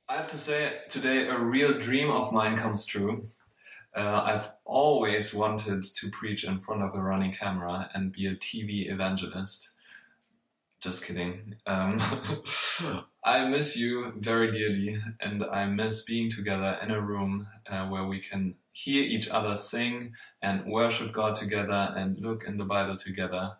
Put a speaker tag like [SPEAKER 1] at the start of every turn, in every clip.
[SPEAKER 1] I have to say, today a real dream of mine comes true. I've always wanted to preach in front of a running camera and be a TV evangelist. Just kidding. I miss you very dearly, and I miss being together in a room where we can hear each other sing and worship God together and look in the Bible together.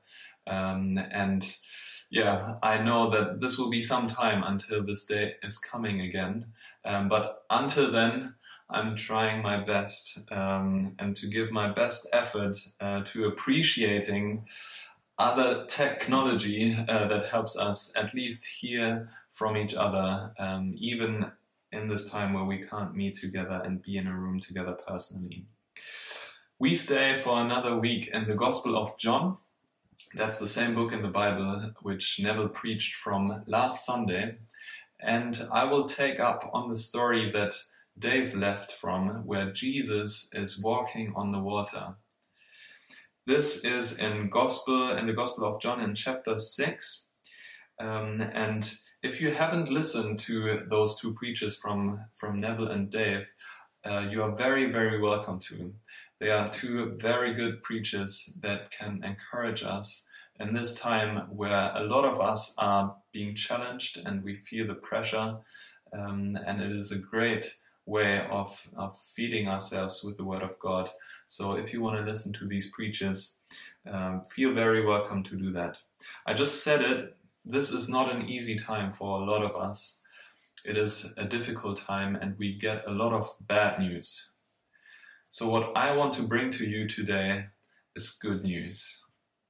[SPEAKER 1] Yeah, I know that this will be some time until this day is coming again. But until then, I'm trying my best and to give my best effort to appreciating other technology that helps us at least hear from each other, even in this time where we can't meet together and be in a room together personally. We stay for another week in the Gospel of John. That's the same book in the Bible which Neville preached from last Sunday. And I will take up on the story that Dave left from, where Jesus is walking on the water. This is in the Gospel of John in chapter 6. And if you haven't listened to those two preachers from Neville and Dave, you are very, very welcome to. They are two very good preachers that can encourage us in this time where a lot of us are being challenged and we feel the pressure. And it is a great way of feeding ourselves with the Word of God. So if you want to listen to these preachers, feel very welcome to do that. I just said it, this is not an easy time for a lot of us. It is a difficult time and we get a lot of bad news. So what I want to bring to you today is good news.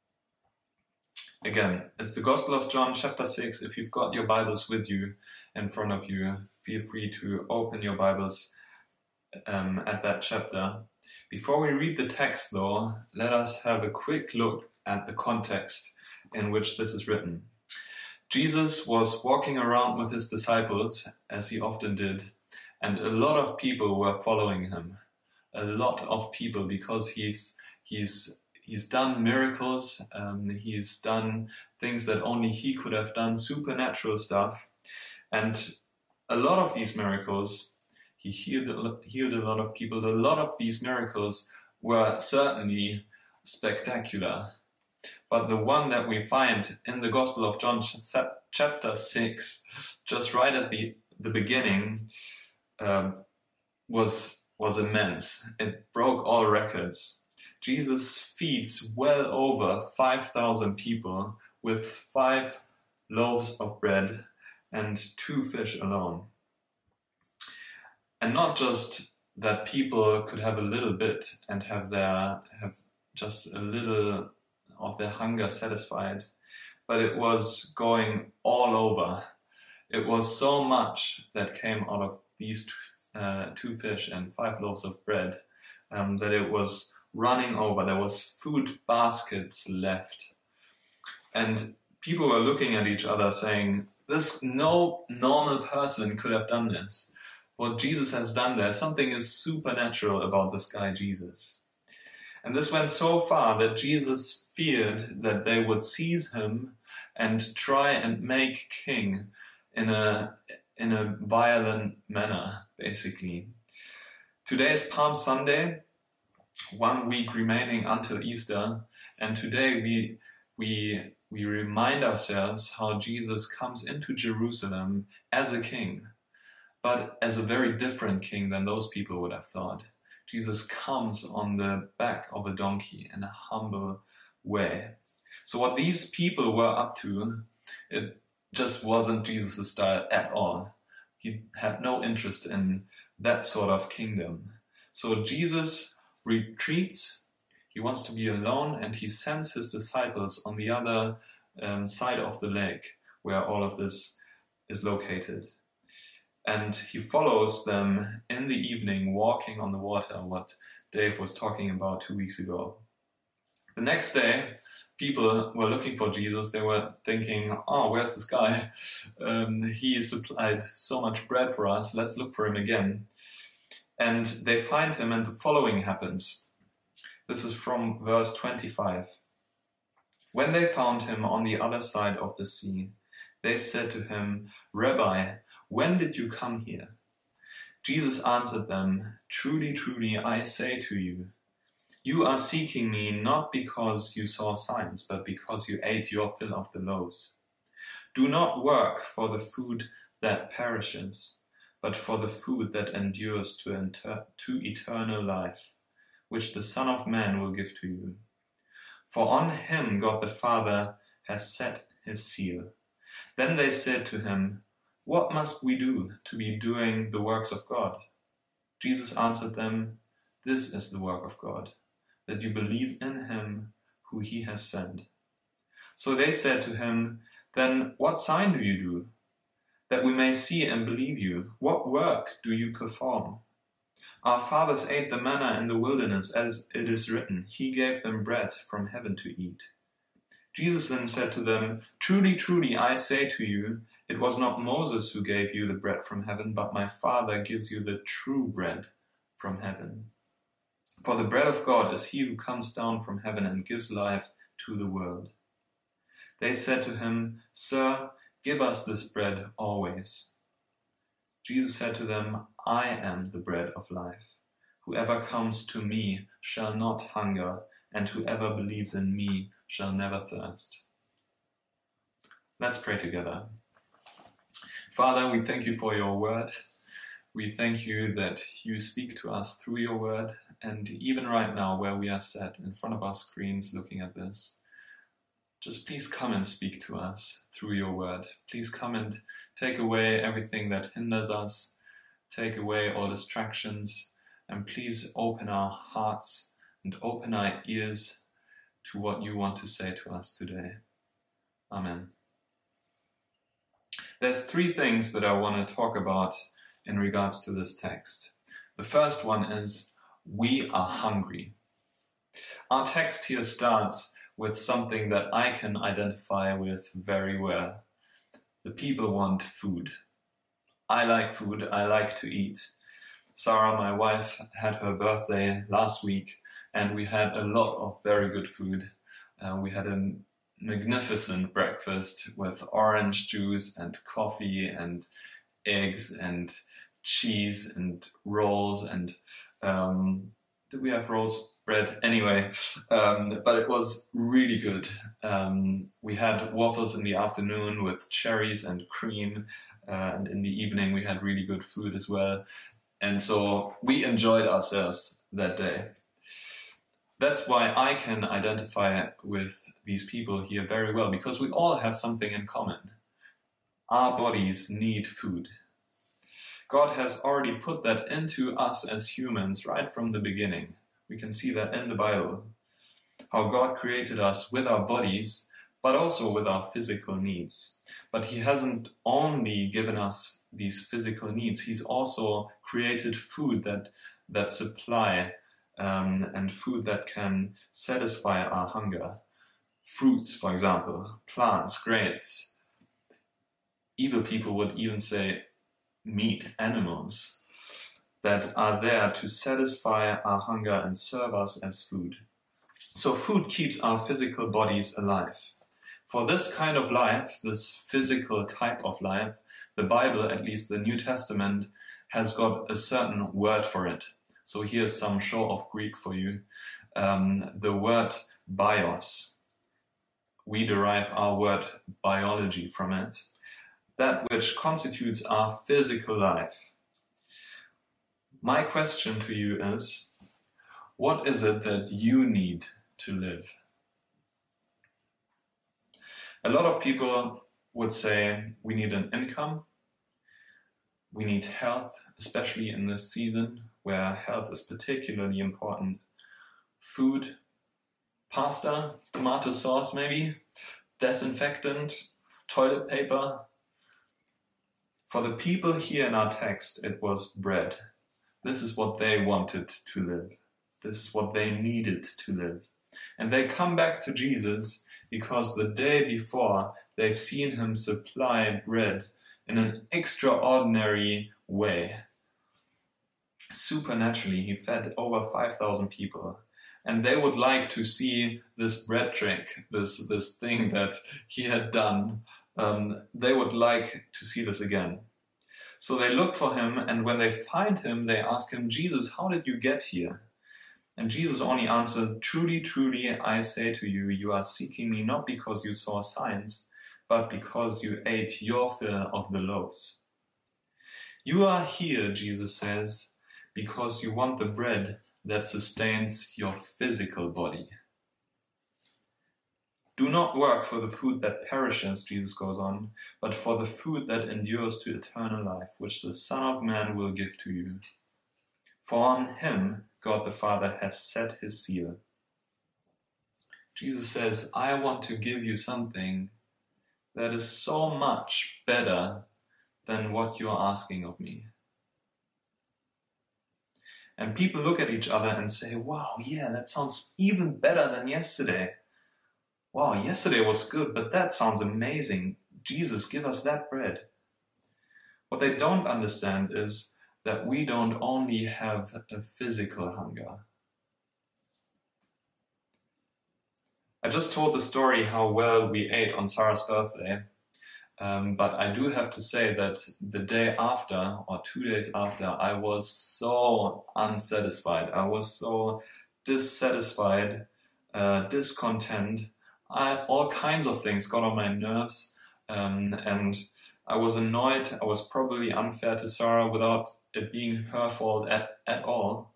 [SPEAKER 1] Again, it's the Gospel of John chapter 6. If you've got your Bibles with you in front of you, feel free to open your Bibles at that chapter. Before we read the text though, let us have a quick look at the context in which this is written. Jesus was walking around with his disciples, as he often did, and a lot of people were following him. A lot of people, because he's done miracles, he's done things that only he could have done, supernatural stuff. And a lot of these miracles, he healed a lot of people. A lot of these miracles were certainly spectacular. But the one that we find in the Gospel of John chapter 6, just right at the beginning, was immense. It broke all records. Jesus feeds well over 5,000 people with 5 loaves of bread and 2 fish alone. And not just that people could have a little bit and have just a little of their hunger satisfied, but it was going all over. It was so much that came out of these 2 fish and 5 loaves of bread that it was running over. There was food baskets left. And people were looking at each other saying, no normal person could have done this. What Jesus has done there, something is supernatural about this guy Jesus. And this went so far that Jesus feared that they would seize him and try and make king in a violent manner, basically. Today is Palm Sunday, 1 week remaining until Easter, and today we remind ourselves how Jesus comes into Jerusalem as a king, but as a very different king than those people would have thought. Jesus comes on the back of a donkey in a humble way. So what these people were up to, it just wasn't Jesus' style at all. He had no interest in that sort of kingdom. So Jesus retreats, he wants to be alone, and he sends his disciples on the other side of the lake where all of this is located. And he follows them in the evening walking on the water, what Dave was talking about 2 weeks ago. The next day, people were looking for Jesus. They were thinking, oh, where's this guy? He supplied so much bread for us. Let's look for him again. And they find him, and the following happens. This is from verse 25. When they found him on the other side of the sea, they said to him, Rabbi, when did you come here?" Jesus answered them, "Truly, truly, I say to you, you are seeking me not because you saw signs, but because you ate your fill of the loaves. Do not work for the food that perishes, but for the food that endures to eternal life, which the Son of Man will give to you. For on him God the Father has set his seal." Then they said to him, "What must we do to be doing the works of God?" Jesus answered them, "This is the work of God, that you believe in him who he has sent." So they said to him, "Then what sign do you do, that we may see and believe you? What work do you perform? Our fathers ate the manna in the wilderness, as it is written, he gave them bread from heaven to eat." Jesus then said to them, "Truly, truly, I say to you, it was not Moses who gave you the bread from heaven, but my Father gives you the true bread from heaven. For the bread of God is he who comes down from heaven and gives life to the world." They said to him, "Sir, give us this bread always." Jesus said to them, "I am the bread of life. Whoever comes to me shall not hunger, and whoever believes in me shall never thirst." Let's pray together. Father, we thank you for your word. We thank you that you speak to us through your word, and even right now where we are sat in front of our screens looking at this, just please come and speak to us through your word. Please come and take away everything that hinders us, take away all distractions, and please open our hearts and open our ears to what you want to say to us today. Amen. There's three things that I want to talk about in regards to this text. The first one is, we are hungry. Our text here starts with something that I can identify with very well. The people want food. I like food, I like to eat. Sarah, my wife, had her birthday last week, and we had a lot of very good food. We had a magnificent breakfast with orange juice and coffee and eggs and cheese and rolls and did we have rolls? Bread? Anyway, but it was really good. We had waffles in the afternoon with cherries and cream, and in the evening we had really good food as well. And so we enjoyed ourselves that day. That's why I can identify with these people here very well, because we all have something in common. Our bodies need food. God has already put that into us as humans right from the beginning. We can see that in the Bible. How God created us with our bodies, but also with our physical needs. But he hasn't only given us these physical needs, he's also created food that supply and food that can satisfy our hunger. Fruits, for example, plants, grains. Evil people would even say meat, animals, that are there to satisfy our hunger and serve us as food. So food keeps our physical bodies alive. For this kind of life, this physical type of life, the Bible, at least the New Testament, has got a certain word for it. So here's some show of Greek for you. The word bios. We derive our word biology from it. That which constitutes our physical life. My question to you is, what is it that you need to live? A lot of people would say we need an income, we need health, especially in this season where health is particularly important. Food, pasta, tomato sauce maybe, disinfectant, toilet paper. For the people here in our text, it was bread. This is what they wanted to live. This is what they needed to live. And they come back to Jesus because the day before they've seen him supply bread in an extraordinary way. Supernaturally, he fed over 5,000 people. And they would like to see this bread trick, this thing that he had done. They would like to see this again. So they look for him, and when they find him, they ask him, Jesus, how did you get here? And Jesus only answered, truly, truly, I say to you, you are seeking me not because you saw signs, but because you ate your fill of the loaves. You are here, Jesus says, because you want the bread that sustains your physical body. Do not work for the food that perishes, Jesus goes on, but for the food that endures to eternal life, which the Son of Man will give to you. For on him God the Father has set his seal. Jesus says, I want to give you something that is so much better than what you are asking of me. And people look at each other and say, wow, yeah, that sounds even better than yesterday. Wow, yesterday was good, but that sounds amazing. Jesus, give us that bread. What they don't understand is that we don't only have a physical hunger. I just told the story how well we ate on Sarah's birthday, but I do have to say that the day after, or 2 days after, I was so unsatisfied. I was so dissatisfied, discontent. All kinds of things got on my nerves, and I was annoyed. I was probably unfair to Sarah without it being her fault at all.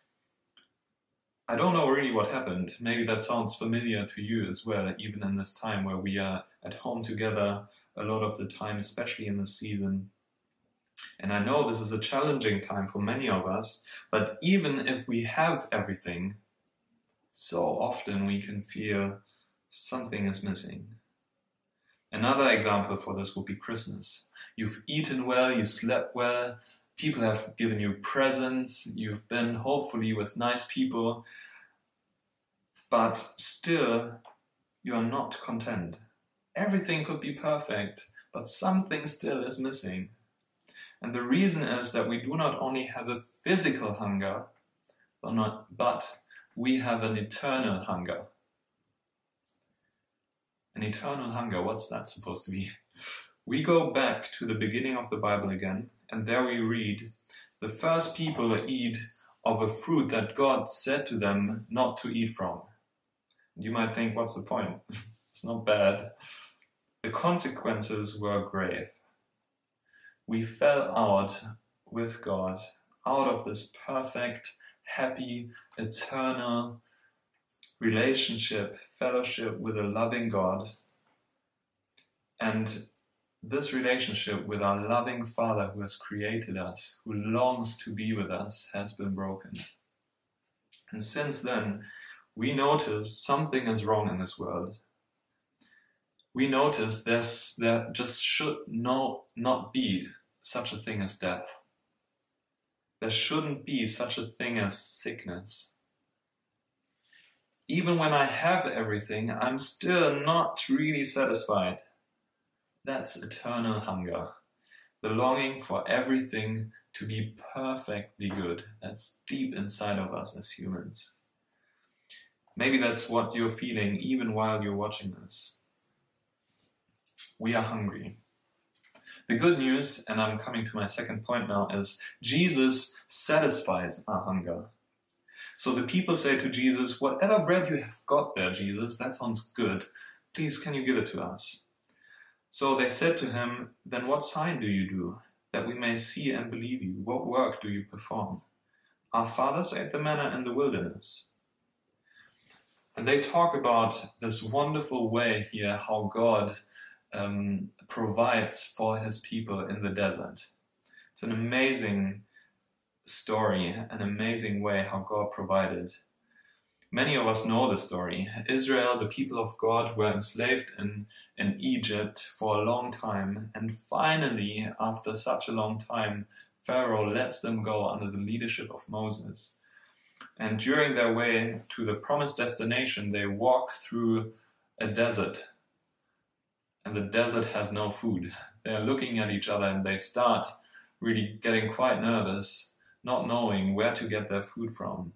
[SPEAKER 1] I don't know really what happened. Maybe that sounds familiar to you as well, even in this time where we are at home together a lot of the time, especially in this season. And I know this is a challenging time for many of us, but even if we have everything, so often we can feel something is missing. Another example for this would be Christmas. You've eaten well, you slept well, people have given you presents, you've been hopefully with nice people, but still you are not content. Everything could be perfect, but something still is missing. And the reason is that we do not only have a physical hunger, but we have an eternal hunger. An eternal hunger, what's that supposed to be? We go back to the beginning of the Bible again, and there we read, the first people eat of a fruit that God said to them not to eat from. You might think, what's the point? It's not bad. The consequences were grave. We fell out with God, out of this perfect, happy, eternal relationship, fellowship with a loving God. And this relationship with our loving Father who has created us, who longs to be with us, has been broken. And since then, we notice something is wrong in this world. We notice there just should not be such a thing as death. There shouldn't be such a thing as sickness. Even when I have everything, I'm still not really satisfied. That's eternal hunger. The longing for everything to be perfectly good. That's deep inside of us as humans. Maybe that's what you're feeling even while you're watching this. We are hungry. The good news, and I'm coming to my second point now, is Jesus satisfies our hunger. So the people say to Jesus, whatever bread you have got there, Jesus, that sounds good. Please, can you give it to us? So they said to him, then what sign do you do, that we may see and believe you? What work do you perform? Our fathers ate the manna in the wilderness. And they talk about this wonderful way here, how God provides for his people in the desert. It's an amazing story, an amazing way how God provided. Many of us know the story. Israel, the people of God, were enslaved in Egypt for a long time, and finally, after such a long time, Pharaoh lets them go under the leadership of Moses. And during their way to the promised destination, they walk through a desert. And the desert has no food. They're looking at each other and they start really getting quite nervous, not knowing where to get their food from.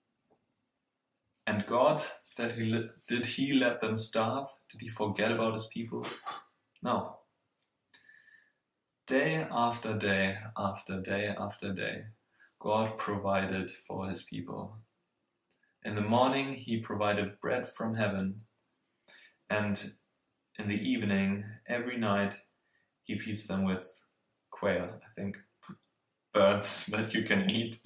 [SPEAKER 1] And God, did he let them starve? Did he forget about his people? No. day after day after day after day, God provided for his people. In the morning, he provided bread from heaven, and in the evening, every night, he feeds them with quail, I think, birds that you can eat.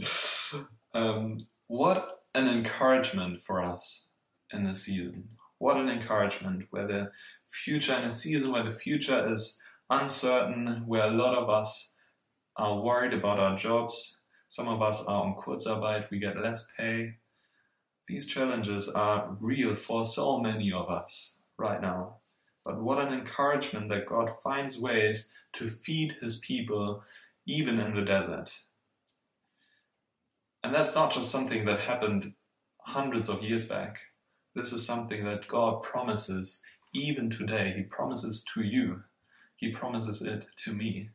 [SPEAKER 1] What an encouragement for us in this season. What an encouragement, where the future, in a season where the future is uncertain, where a lot of us are worried about our jobs, some of us are on Kurzarbeit, we get less pay. These challenges are real for so many of us right now. But what an encouragement that God finds ways to feed his people even in the desert. And that's not just something that happened hundreds of years back. This is something that God promises even today. He promises to you. He promises it to me.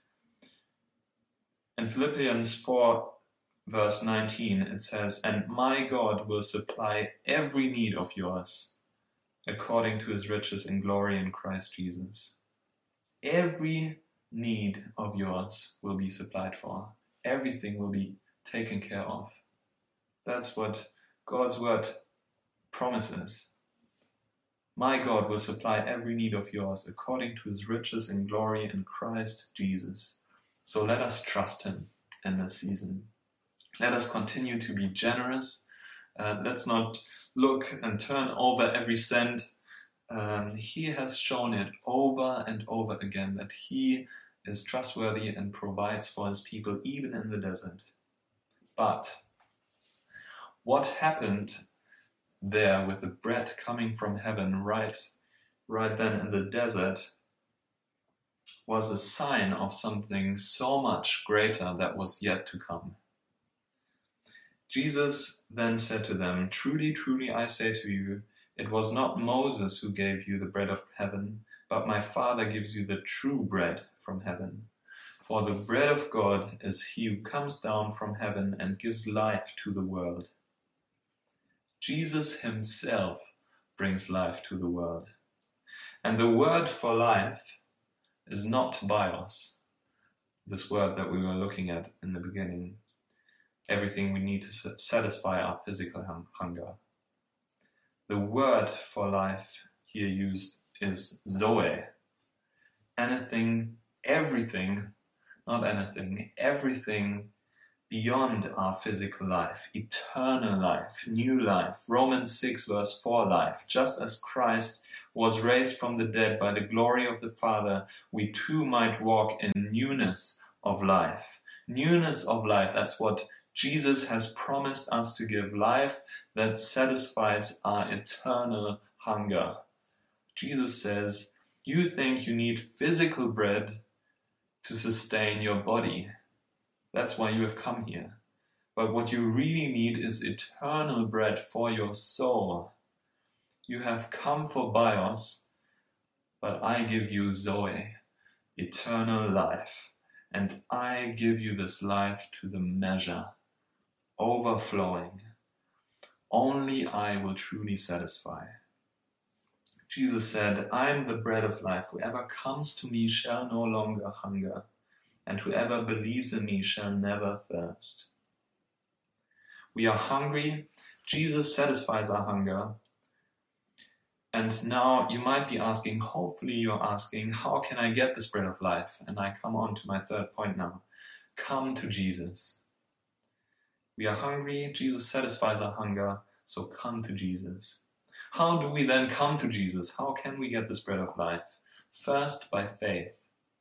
[SPEAKER 1] In Philippians 4, verse 19, it says, "And my God will supply every need of yours, according to his riches in glory in Christ Jesus." Every need of yours will be supplied for. Everything will be taken care of. That's what God's word promises. My God will supply every need of yours according to his riches in glory in Christ Jesus. So let us trust him in this season. Let us continue to be generous. Let's not look and turn over every cent. He has shown it over and over again that he is trustworthy and provides for his people even in the desert. But what happened there with the bread coming from heaven right then in the desert was a sign of something so much greater that was yet to come. Jesus then said to them, "Truly, truly, I say to you, it was not Moses who gave you the bread of heaven, but my Father gives you the true bread from heaven. For the bread of God is he who comes down from heaven and gives life to the world." Jesus himself brings life to the world. And the word for life is not bios, this word that we were looking at in the beginning. Everything we need to satisfy our physical hunger. The word for life here used is Zoe. Anything, everything, not anything, everything beyond our physical life, eternal life, new life. Romans 6 verse 4 life. Just as Christ was raised from the dead by the glory of the Father, we too might walk in newness of life. Newness of life, that's what Jesus has promised us to give, life that satisfies our eternal hunger. Jesus says, you think you need physical bread to sustain your body. That's why you have come here. But what you really need is eternal bread for your soul. You have come for bios, but I give you Zoe, eternal life. And I give you this life to the measure, overflowing. Only I will truly satisfy. Jesus said, I am the bread of life. Whoever comes to me shall no longer hunger, and whoever believes in me shall never thirst. We are hungry. Jesus satisfies our hunger. And now you might be asking, hopefully you're asking, how can I get this bread of life? And I come on to my third point now. Come to Jesus. We are hungry. Jesus satisfies our hunger. So come to Jesus. How do we then come to Jesus? How can we get this bread of life? First, by faith.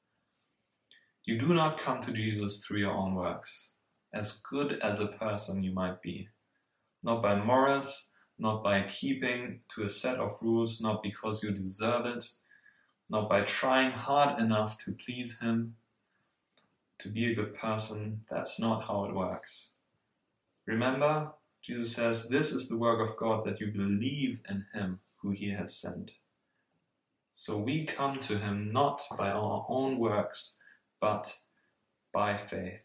[SPEAKER 1] You do not come to Jesus through your own works, as good as a person you might be. Not by morals, not by keeping to a set of rules, not because you deserve it, not by trying hard enough to please him, to be a good person. That's not how it works. Remember, Jesus says, this is the work of God, that you believe in him who he has sent. So we come to him not by our own works, but by faith.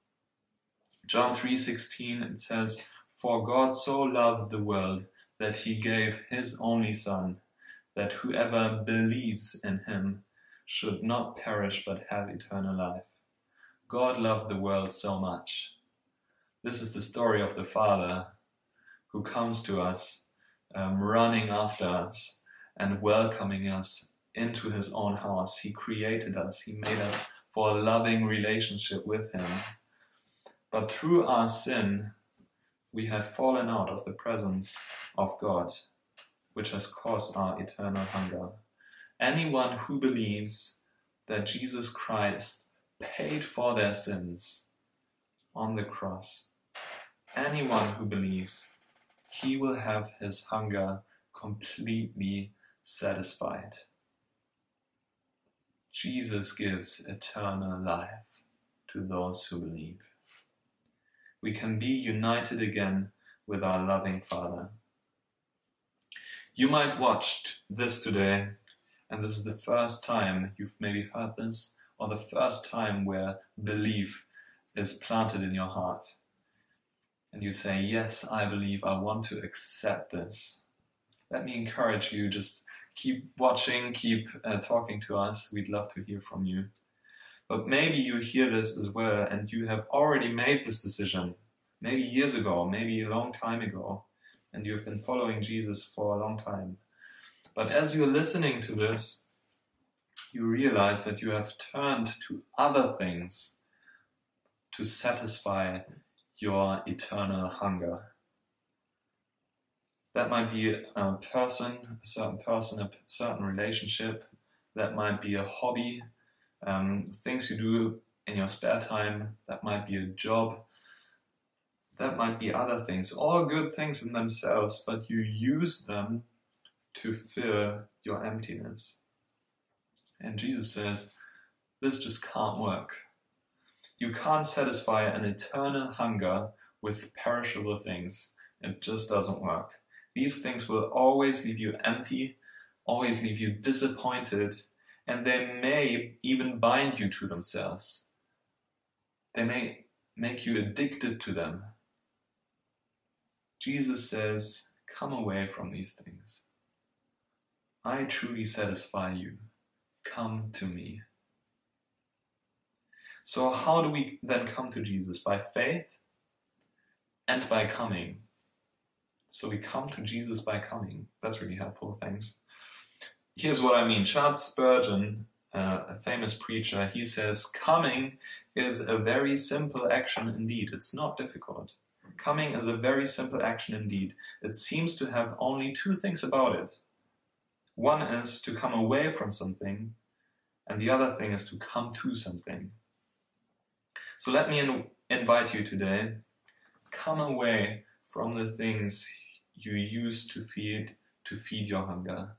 [SPEAKER 1] John 3:16, it says, For God so loved the world that he gave his only Son, that whoever believes in him should not perish but have eternal life. God loved the world so much. This is the story of the Father who comes to us, running after us and welcoming us into his own house. He created us. He made us for a loving relationship with him. But through our sin, we have fallen out of the presence of God, which has caused our eternal hunger. Anyone who believes that Jesus Christ paid for their sins on the cross, anyone who believes, he will have his hunger completely satisfied. Jesus gives eternal life to those who believe. We can be united again with our loving Father. You might watch this today, and this is the first time you've maybe heard this, or the first time where belief is planted in your heart. And you say, yes, I believe, I want to accept this. Let me encourage you, just keep watching, keep talking to us. We'd love to hear from you. But maybe you hear this as well and you have already made this decision, maybe years ago, maybe a long time ago, and you've been following Jesus for a long time. But as you're listening to this, you realize that you have turned to other things to satisfy your eternal hunger. That might be a certain relationship. That might be a hobby, things you do in your spare time. That might be a job. That might be other things, all good things in themselves, but you use them to fill your emptiness. And Jesus says, this just can't work. You can't satisfy an eternal hunger with perishable things. It just doesn't work. These things will always leave you empty, always leave you disappointed, and they may even bind you to themselves. They may make you addicted to them. Jesus says, come away from these things. I truly satisfy you. Come to me. So how do we then come to Jesus? By faith and by coming. So we come to Jesus by coming. That's really helpful, thanks. Here's what I mean. Charles Spurgeon, a famous preacher, he says, coming is a very simple action indeed. It's not difficult. Coming is a very simple action indeed. It seems to have only two things about it. One is to come away from something, and the other thing is to come to something. So let me invite you today, come away from the things you use to feed your hunger.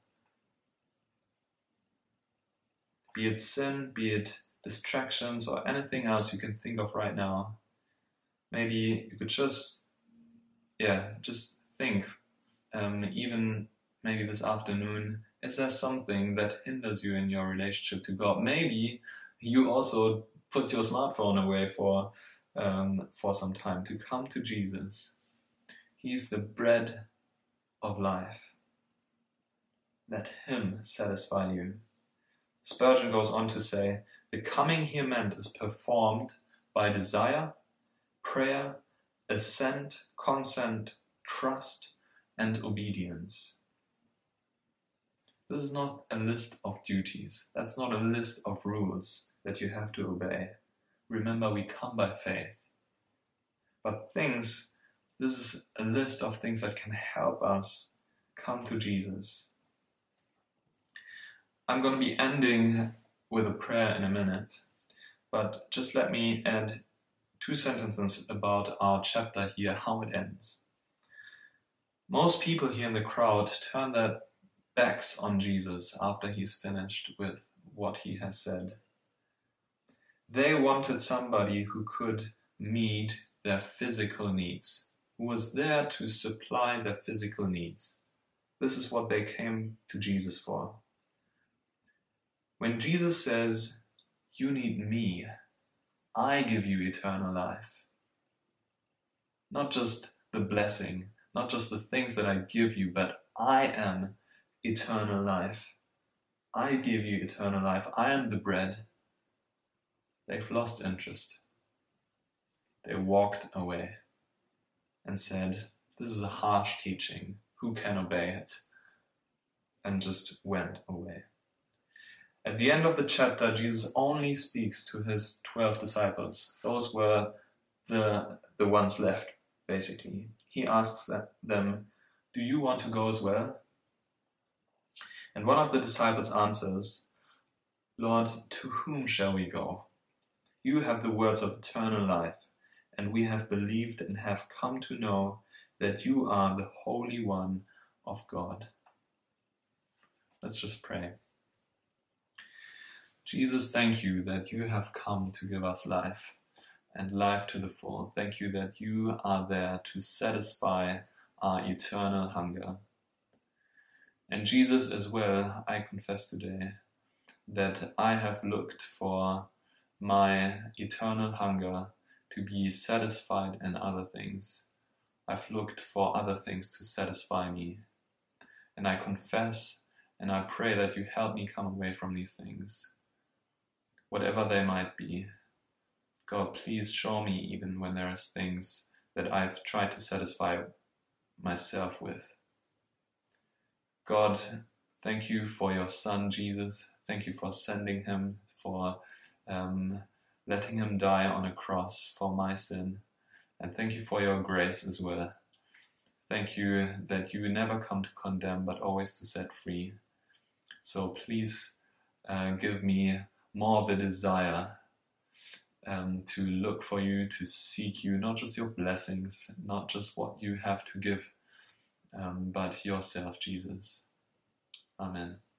[SPEAKER 1] Be it sin, be it distractions, or anything else you can think of right now. Maybe you could just think, even maybe this afternoon, is there something that hinders you in your relationship to God? Maybe you also put your smartphone away for some time to come to Jesus. He's the bread of life. Let him satisfy you. Spurgeon goes on to say, the coming here meant is performed by desire, prayer, assent, consent, trust, and obedience. This is not a list of duties. That's not a list of rules that you have to obey. Remember, we come by faith. But this is a list of things that can help us come to Jesus. I'm going to be ending with a prayer in a minute, but just let me add 2 sentences about our chapter here, how it ends. Most people here in the crowd turn their backs on Jesus after he's finished with what he has said. They wanted somebody who could meet their physical needs, who was there to supply their physical needs. This is what they came to Jesus for. When Jesus says, you need me, I give you eternal life. Not just the blessing, not just the things that I give you, but I am eternal life. I give you eternal life, I am the bread, they've lost interest. They walked away and said, this is a harsh teaching, who can obey it? And just went away. At the end of the chapter, Jesus only speaks to his 12 disciples. Those were the ones left, basically. He asks them, do you want to go as well? And one of the disciples answers, Lord, to whom shall we go? You have the words of eternal life, and we have believed and have come to know that you are the Holy One of God. Let's just pray. Jesus, thank you that you have come to give us life, and life to the full. Thank you that you are there to satisfy our eternal hunger. And Jesus, as well, I confess today that I have looked for my eternal hunger to be satisfied in other things. I've looked for other things to satisfy me. And I confess and I pray that you help me come away from these things, whatever they might be. God, please show me even when there is things that I've tried to satisfy myself with. God, thank you for your Son, Jesus. Thank you for sending him, for letting him die on a cross for my sin. And thank you for your grace as well. Thank you that you never come to condemn, but always to set free. So please give me more of a desire to look for you, to seek you, not just your blessings, not just what you have to give, but yourself, Jesus. Amen.